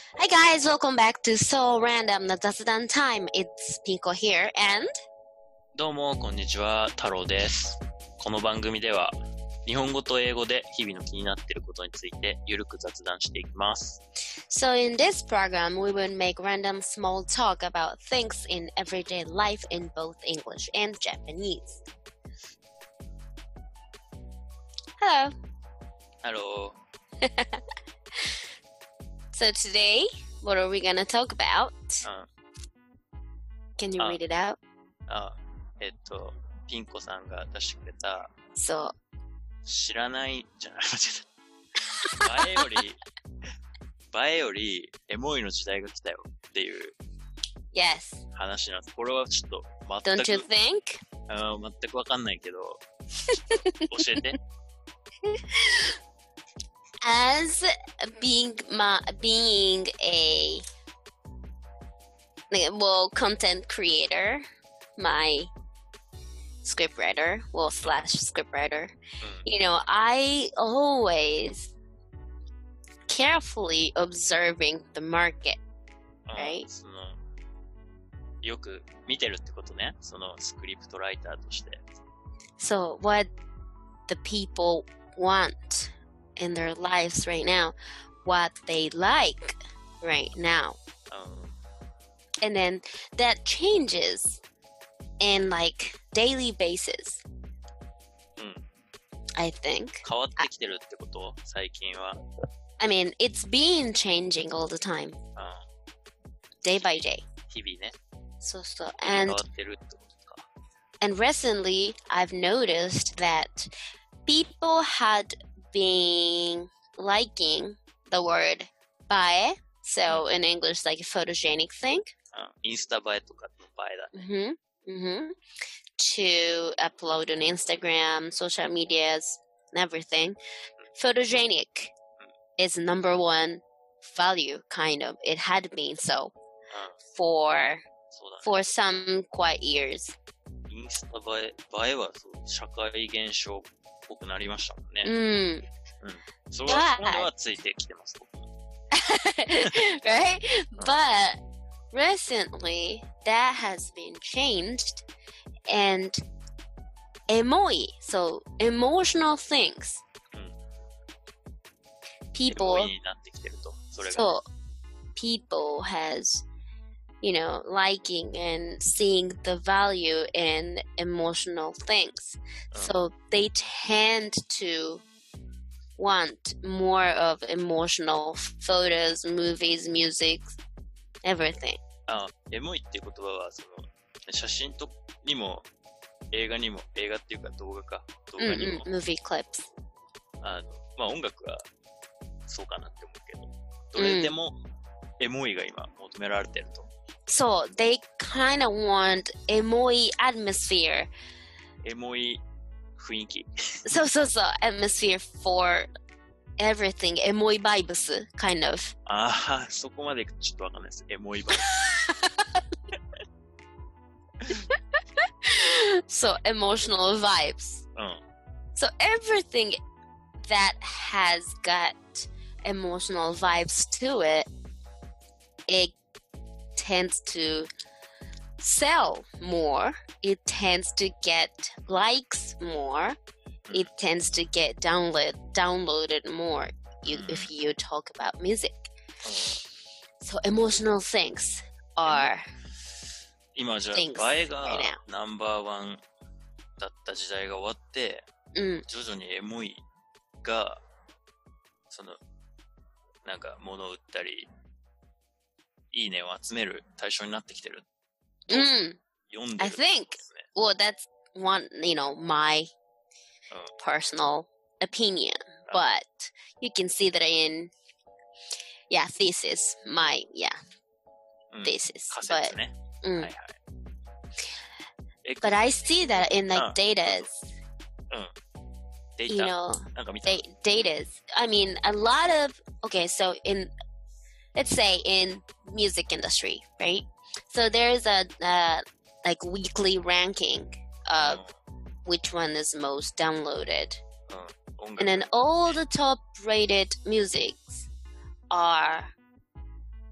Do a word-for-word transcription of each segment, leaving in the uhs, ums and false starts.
Hi guys, welcome back to So Random な雑談 Time. It's Pinko here and どうもこんにちは、太郎です。この番組では日本語と英語で日々の気になっていることについてゆるく雑談していきます。 So in this program, we will make random small talk about things in everyday life in both English and Japanese. Hello. Hello. So today, what are we gonna talk about? うん、 Can you あ read it out? あ、えっと、ピンコさんが出してくれた、 そう。 知らないじゃない、間違えた。映えより、映えよりエモいの時代が来たよっていう Yes. 話なんです。これはちょっと全 Don't you く、 think? あー全くわかんないけど、教えて。 As being my being a like, well content creator, my scriptwriter, well slash scriptwriter, うん、 you know, I always carefully observing the market, あ right? そのよく見てるってことね。そのスクリプトライターとして。 So what the people want in their lives right now, what they like right now. うん、 And then that changes in like daily basis, うん、 I think. 変わってきてるってこと最近は。 I mean, it's been changing all the time, あ day by day. 日々ね。 So, so, 変 and, わってるってことか。 and recently I've noticed that people had been liking the word bae. So in English, like a photogenic thing. あインスタ映えとかの映えだね。 Mm-hmm. Mm-hmm. To upload on Instagram, social medias, and everything. Photogenic is number one value, kind of. It had been so うん、 for そうだね。 for some quiet years. インスタ映え、映えはそう社会現象っぽくなりましたもんね。 Mm. うん。それは、それはついてきてます。僕も Right? But recently that has been changed and emoi, so emotional things. うん。 People エモいになってきてると。それが。 so people has you know liking and seeing the value in emotional things, うん、 so they tend to want more of emotional photos, movies, music, everything. あ、エモいっていう言葉は、その、写真とにも、映画にも、映画っていうか動画か、動画にも、 Mm-mm, movie clips. あの、まあ音楽はそうかなって思うけど、どれでもエモいが今求められてると。 So they kind of want emoi atmosphere. エモい雰囲気。 So so so atmosphere for everything. Emoi vibes, kind of. ああ、そこまでちょっとわかんないです。エモい版。 So emotional vibes. うん。 So everything that has got emotional vibes to it, it tends to sell more. It tends to get likes more. It tends to get download downloaded more. You, if you talk about music. So emotional things are 今じゃ Things あ映えが right now. ナンバーワンだった時代が終わって、 mm, 徐々にエモいがそのなんか物を売ったりいいねを集める対象になってきてる。 mm. 読んで I る think ですね。 well that's one, you know, my うん、 personal opinion, but you can see that in yeah thesis my yeah うん、 thesis 仮 but 説ね。 mm, はいはい。え、 but I see that in like Ah. datas デー you タ know なんか見た。 da- datas I mean a lot of okay so in let's say in music industry, right? So there's a uh, like weekly ranking of which one is most downloaded. うん、音楽 And then all the top rated musics are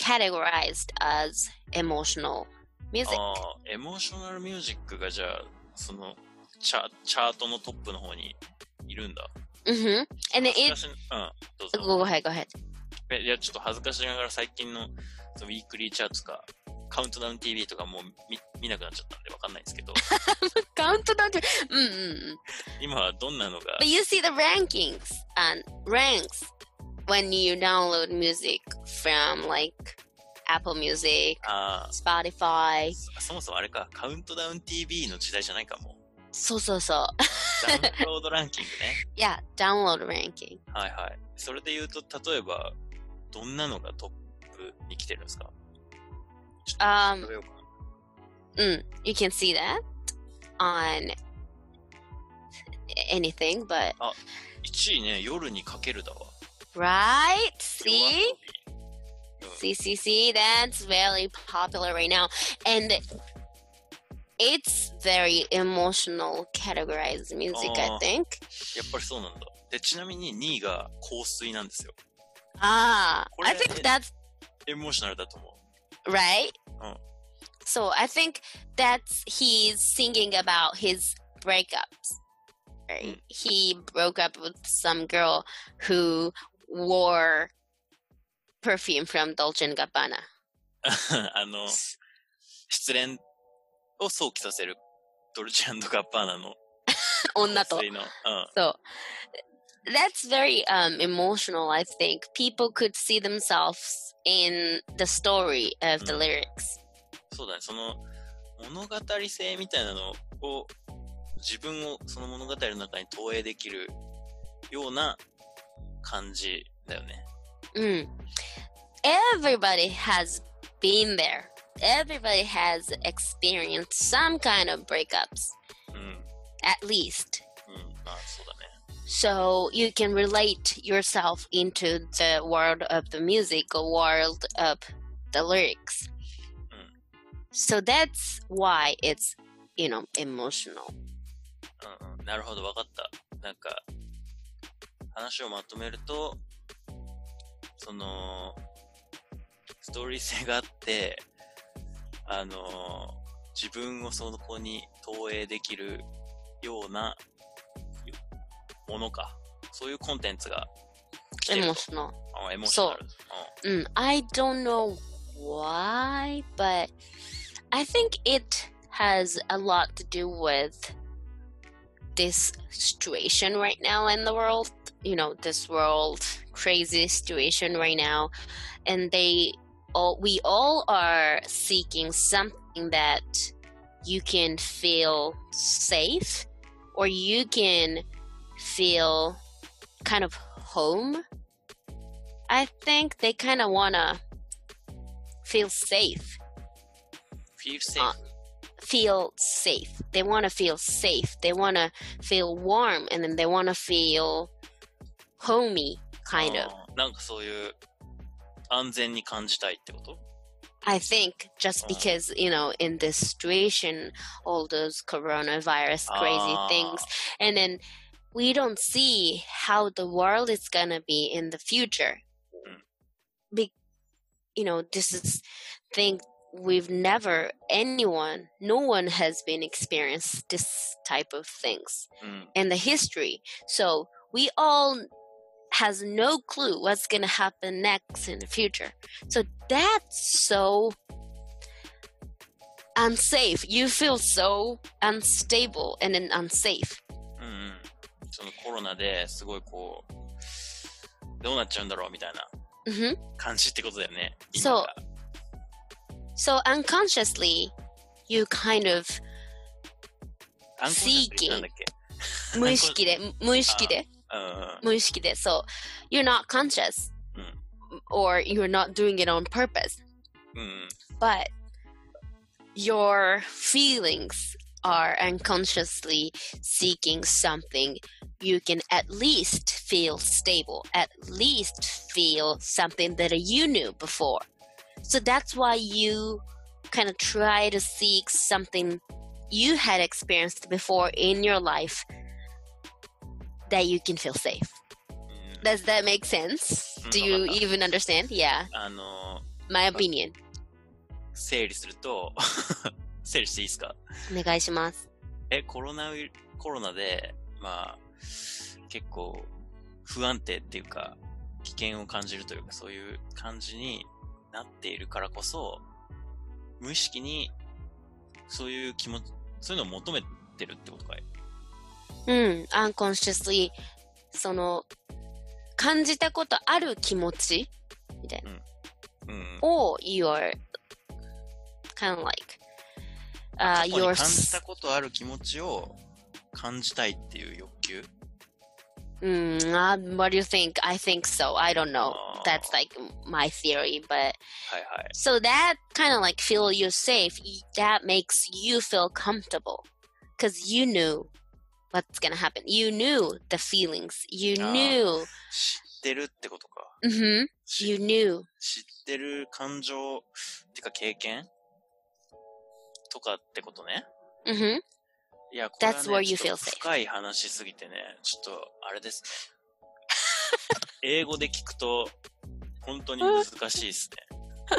categorized as emotional music. ああ、エモーショナルミュージックがじゃあ、その、チャ、チャートのトップの方にいるんだ。 Mm-hmm. And then 恥ず it... かし、うん、どうぞ。 Go ahead, go ahead. えいや、ちょっと恥ずかしながら最近のそのウィークリーチャートとか、カウントダウン ティーブイ とかもう 見, 見なくなっちゃったんでわかんないんですけど。 Countdown to... Mm-mm. 今はどんなのが But you see the rankings and ranks when you download music from like Apple Music, あ Spotify. あ、そもそもあれか、カウントダウン ティーブイ の時代じゃないかも。 そうそうそう。 ダウンロードランキングね。 Yeah, download ranking. はいはい。それで言うと、例えば、どんなのがトップに来てるんですか？ちょっと Um, 調べようかな。 Mm, you can see that on anything, but いちいね、夜にかけるだわ。 right? See? うん See, see, see, that's very popular right now. And it's very emotional categorized music, I Oh. think. やっぱりそうなんだ。で、ちなみににいが香水なんですよ。 Ah, What I is think it? that's エモーショナルだと思う。 right. Oh. So I think that's he's singing about his breakups. Right? Mm. He broke up with some girl who wore perfume from Dolce and Gabbana. あの、失恋を想起させるドルチェ&ガッバーナの女と。 香水の、うん。 So that's very um, emotional, I think. People could see themselves in the story of the Mm. lyrics. そうだね、その物語性みたいなのを自分をその物語の中に投影できるような感じだよね。 Mm. Everybody has been there. Everybody has experienced some kind of breakups, うん、 at least. うん、まあそうだね。 So you can relate yourself into the world of the music or world of the lyrics. Mm. So that's why it's, you know, emotional. うんうん、なるほど、わかった。なんか話をまとめると、そのストーリー性があって、あの自分をそこに投影できるようなものか、そういうコンテンツが来てると。 Emotional. あ、エモーショナル。 Mm, I don't know why, but I think it has a lot to do with this situation right now in the world. You know, this world crazy situation right now, and they all we all are seeking something that you can feel safe, or you can feel kind of home. I think they kind of wanna feel safe. Feel safe. Uh, feel safe. They want to feel safe. They want to feel warm, and then they want to feel homey, kind of. あー、なんかそういう安全に感じたいってこと？ I think just Oh. because, you know, in this situation, all those coronavirus crazy Ah. things, and then we don't see how the world is gonna be in the future. Mm. Be, you know, this is thing we've never, anyone, no one has been experienced this type of things うん。 in the history. So we all has no clue what's gonna happen next in the future. So that's so unsafe. You feel so unstable and then unsafe. うんうん。そのコロナですごいこう、どうなっちゃうんだろうみたいな hmm 感じってことだよね。 そう今が So unconsciously, you kind of アンコンシャスってなんだっけ？ 無意識で、無意識で、 うん無意識で、so you're not conscious うん or you're not doing it on purpose, うん。 but your feelings are unconsciously seeking something you can at least feel stable, at least feel something that you knew before. So that's why you kind of try to seek something you had experienced before in your life that you can feel safe. うん Does that make sense? うん Do you わかった。 even understand? Yeah. あの my opinion. 整理すると、整理していいですか？ お願いします。 え、コロナウイル、コロナで、まあ、結構不安定っていうか、危険を感じるというか、そういう感じになっているからこそ、無意識にそういう気持ち、そういうのを求めてるってことかい？ うん、unconsciously その感じたことある気持ちみたいな、 うんうん、 を you're kind of like、uh, 過去に your 感じたことある気持ちを感じたいっていう欲求。 Mm, uh, what do you think? I think so. I don't know. Oh. That's like my theory, but はいはい。 so that kind of like feel you safe. That makes you feel comfortable because you knew what's gonna happen. You knew the feelings. You あー knew. 知ってるってことか。 Mm-hmm. 知 You knew. 知ってる感情ってか経験とかってことね。 Mm-hmm. いや、これは That's where ね、 you ちょ feel っと safe. 深い話すぎてね、ちょっとあれですね。英語で聞くと本当に難しいですね。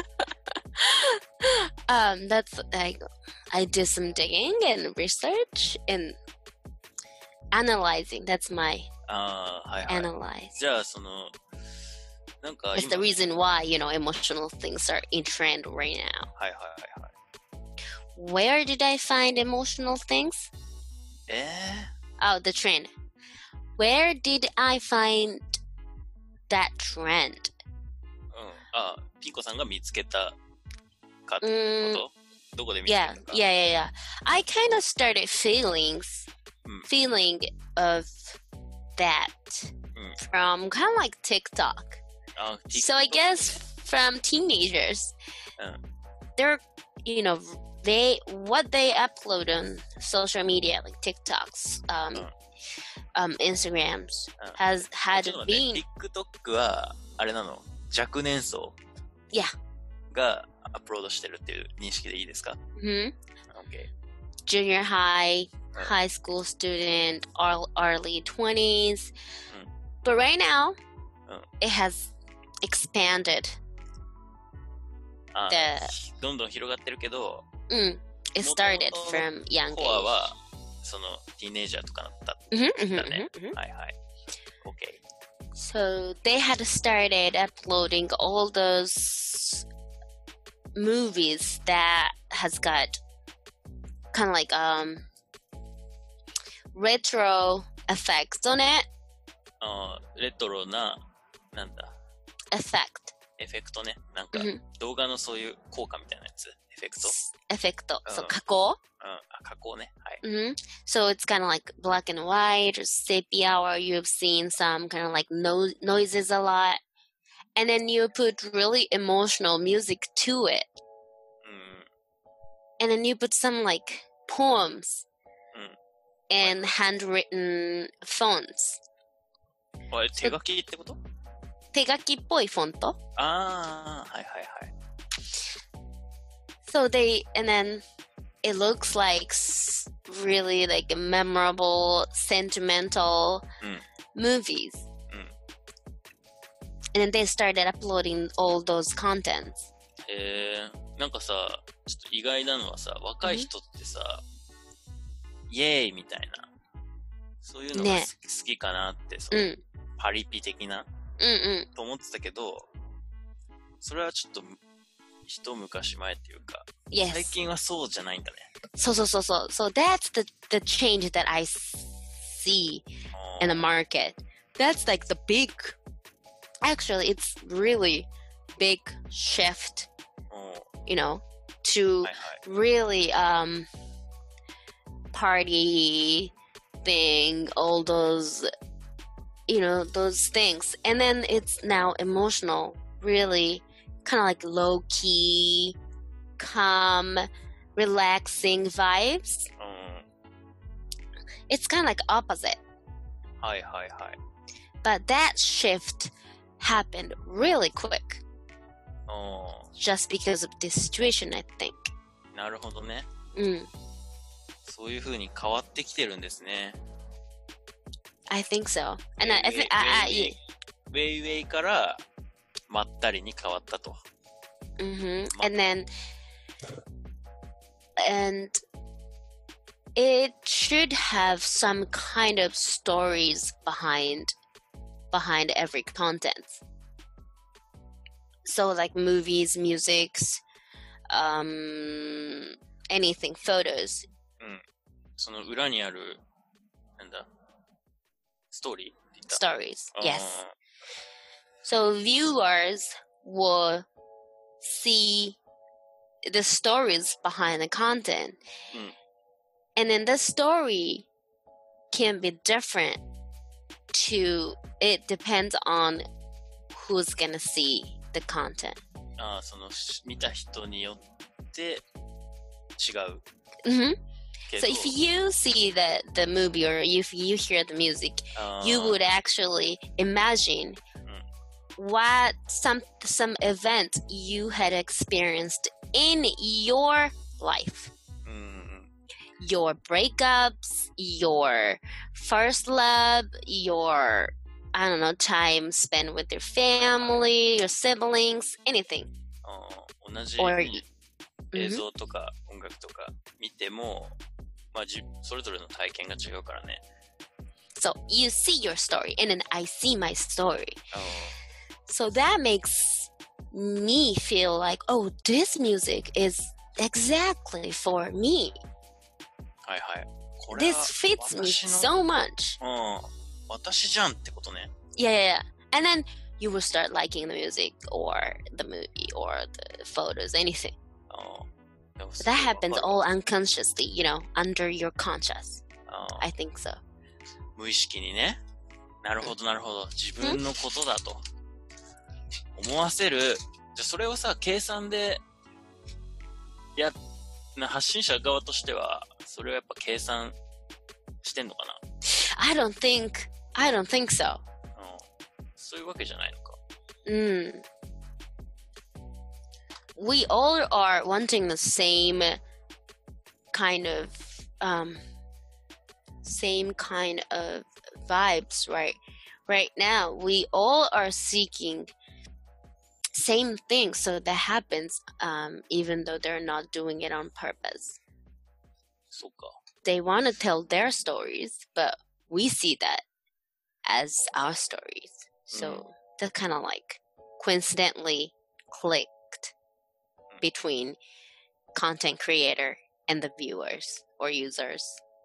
Um, that's like I did some digging and research and analyzing. That's my ああ、はいはい。 analyze. じゃあそのなんか It's 今 the reason why, you know, emotional things are in trend right now. はいはいはいはい。 Where did I find emotional things? え Oh, the trend. Where did I find that trend? ー、うん。あ、ピンコさんが見つけたかってこ Mm, と？どこで見つけ yeah, たか？ yeah, yeah, yeah. I kind of started feelings, Mm. feeling of that Mm. from kind of like TikTok. あ、 So I TikTok guess from teenagers, Mm. they're, you know, they what they upload on social media like TikToks, um, Mm. um, Instagrams Mm. has ち had ょっと待って、 been, TikTok はあれなの？若年層 yeah, がアップロードしてるっていう認識でいいですか？ hmm OK。 junior high, Mm. high school student, or early twenties. Mm. But right now, Mm. it has expanded. あ、 The どんどん広がってるけど、 mm, it started from young コア age. はそのティーネイジャーとかだった Mhm, mhm, だね。 mhm, mhm. はいはい。OK。 So they had started uploading all those movies that has got kind of like um retro effects on it. あー、レトロな、なんだ、 Effect. エフェクトね。なんか、 Mhm. 動画のそういう効果みたいなやつ。エフェクト。 Effect. So Uh. 加工. うん。あ、加工ね。はい。 hmm So it's kind of like black and white or sepia, or you've seen some kind of like no- noises a lot. And then you put really emotional music to it. うん。 And then you put some like poems Mm. and handwritten fonts. あれ、手書きってこと？ 手書きっぽいフォント。 ああ、はいはいはい。 So they, and then it looks like s- really like memorable, sentimental Mm. movies. Mm. And then they started uploading all those contents. えー、なんかさ、ちょっと意外なのはさ、若い人ってさ、イエーイみたいな、そういうのが好ねき、好きかなって、そのうん。 パリピ的な、 うんうん。 と思ってたけど、それはちょっと、一昔前っていうか、 Yes. 最近はそうじゃないんだね。 So, so, so, so. So that's the, the change that I see in the market. That's like the big, actually, it's really big shift, おー、 you know, to はいはい。 really um party thing, all those, you know, those things. And then it's now emotional, really kind of like low key, calm, relaxing vibes. うん。 It's kind of like opposite. はいはいはい。 But that shift happened really quick お just because of this situation, I think. ー、なるほどね。 Mm, そういう風に変わってきてるんですね。 I think so. And I, I ウェイ think, I, I, ウェイウェイからまったりに変わったと。 Mm-hmm. Ma- And then, and it should have some kind of stories behind behind every content. So like movies, musics, um, anything, photos, その裏にある、なんだ、ストーリーって言った stories. あー Yes. So viewers will see the stories behind the content. うん And then the story can be different to, it depends on who's gonna see the content. あーそのし見た人によって違う hmm け So ど if you see the, the movie or if you hear the music, あー you would actually imagine what some some event you had experienced in your life. うんうん Your breakups, your first love, your, I don't know, time spent with your family, your siblings, anything. あー同じ Or 映 Mhm. 像とか音楽とか見ても、まあ、じそれぞれの体験が違うからね。 So you see your story and then I see my story. あ So that makes me feel like, oh, this music is exactly for me. ーはいはい。これ This は fits me 私の so much. うん、私じゃんってことね。 Yeah, yeah, yeah. And then you will start liking the music or the movie or the photos, anything. あーでも But す that ごいわか happens る all unconsciously, you know, under your conscious. あー I think so. 無意識にね。なるほどなるほど。自分のことだと思わせる。じゃあそれをさ、計算でや、な発信者側としては、それをやっぱ計算してんのかな。 I don't think, I don't think so. うん、そういうわけじゃないのか。 Mm. We all are wanting the same kind of um same kind of vibes, right? Right now, we all are seeking same things, so that happens um even though they're not doing it on purpose. そうか。 They want to tell their stories, but we see that as our stories. So that kind of like coincidentally clicked between content creator and the viewers or users.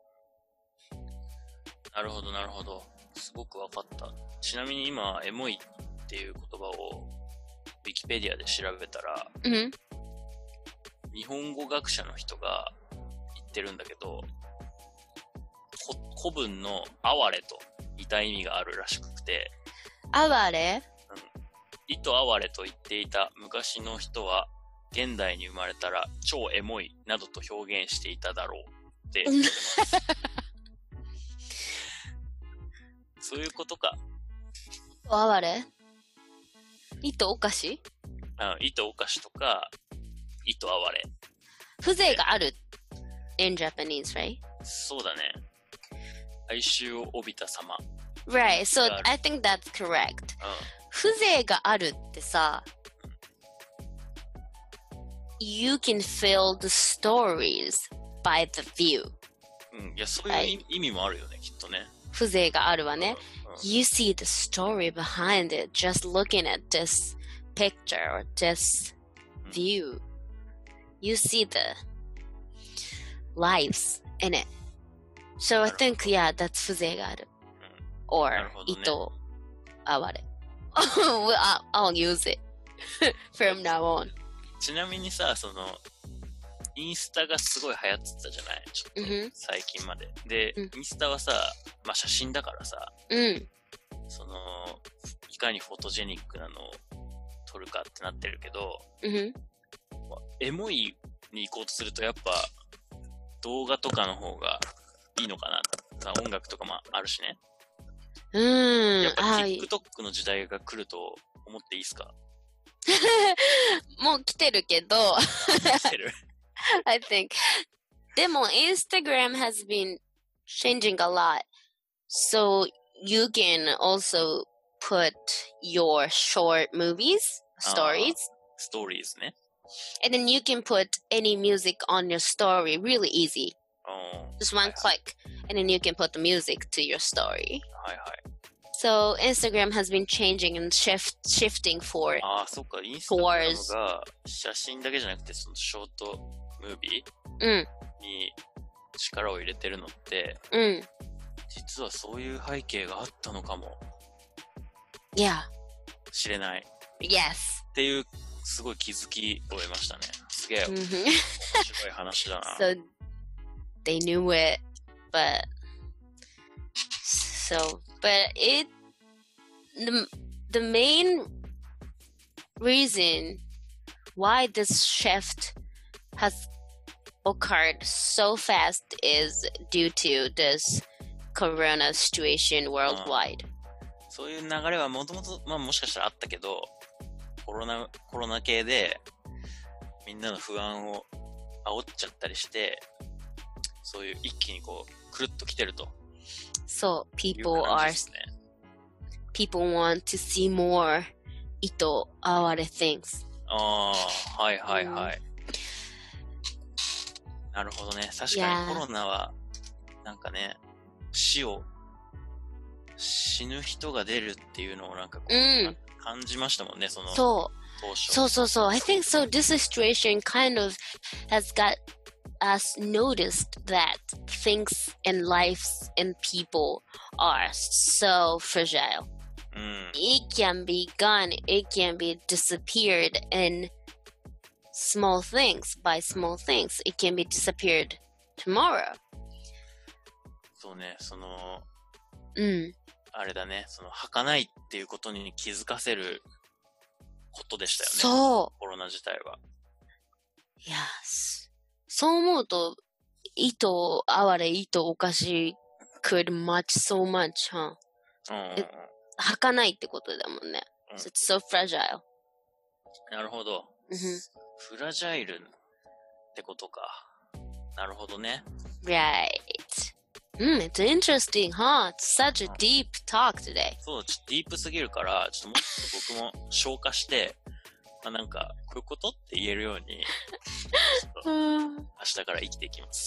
なるほどなるほど。すごくわかった。ちなみに今、エモいっていう言葉をウィキペディアで調べたら、 hmm 日本語学者の人が言ってるんだけど、こ古文の哀れと似た意味があるらしくて、 Aware? 意と哀れと言っていた昔の人は、現代に生まれたら超エモいなどと表現していただろうって言ってます。そういうことか。 Aware? 意とおかしあ、意とおかしとか、意と哀れ。 風情がある in Japanese, right? そうだね。哀愁を帯びた様。 Right, so Got it. I think that's correct. う風情があるってさ、you can feel the stories by the view. ん。うん。いや、そういう意意味もあるよね、きっとね。 風情があるわね。 うんうん You see the story behind it just looking at this picture or this view. You see the lives in it. So I think, yeah, that's 風情がある。Or なるほどね。 意と哀れ。Well, I'll, I'll use it from now on. ちなみにさ、その、インスタがすごい流行ってたじゃないちょっと Mhm. 最近まで。で、 うんインスタはさ、まあ写真だからさ、 うん。 その、いかにフォトジェニックなのを撮るかってなってるけど、 うん。 まあエモいに行こうとするとやっぱ動画とかの方がいいのかな。まあ音楽とかもあるしね。 うん。 やっぱはい TikTok の時代が来ると思っていいですか？ もう来てるけど、 来てる I think. でも、Instagram has been changing a lot. So you can also put your short movies, stories stories ね。 And then you can put any music on your story really easy. Oh, Just one click, and then you can put the music to your story. はいはい。 So Instagram has been changing and shift shifting for ああ、そっか。インスタグラムが写真だけじゃなくて、そのショートムービーに力を入れてるのって、 うん、 実はそういう背景があったのかも。 Yeah. 知れない。 Yes. っていうすごい気づきを得ましたね。すげえ。面白い話だな。 So they knew it, but so but it the the main reason why this shift has occurred so fast is due to this corona situation worldwide. そういう流れはもともと、まあもしかしたらあったけど、コロナ、コロナ系でみんなの不安を煽っちゃったりして、そういう一気にこう、くるっと来てると。 So people are, people want to see more 糸哀れ things. ああ、はいはいはい。うん、なるほどね。確かにコロナは、なんかね、死を、死ぬ人が出るっていうのをなんかこう、うん、感じましたもんね、その。 そう。そうそうそう。I think so. This situation kind of has got us noticed that things in lives and people are so fragile. Mm. It can be gone. It can be disappeared in small things by small things. It can be disappeared tomorrow. そうね、その、 うん。 あれだね、その、儚いっていうことに気づかせることでしたよね。 そう。 コロナ自体は。 Yes. そう思うと、糸哀れ、糸おかし could much so much, huh? うん。 儚いってことだもんね。 うん、 so it's so fragile. なるほど。 Mm-hmm. フラジャイルってことか。なるほどね。 Right.Mm, it's interesting, huh? It's such a deep talk today. そう、ちょっとディープすぎるから、ちょっともっと僕も消化して、まあなんか、こういうことって言えるように、明日から生きていきます。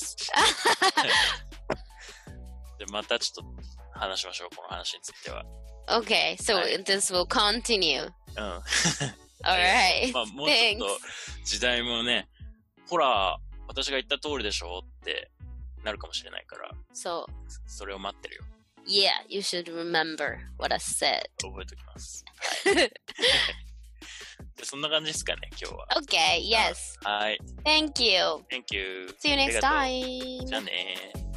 で、またちょっと話しましょう、この話については。 Okay, so、はい、this will continue. うん。 Alright. まあもうちょっと時代もね、ほら、私が言った通りでしょってなるかもしれないから。 そう。 それを待ってるよ。 Yeah, you should remember what I said. 覚えておきます。でそんな感じですかね、今日は。 Okay, yes. はい。 Thank you. Thank you. See you next time. じゃあね。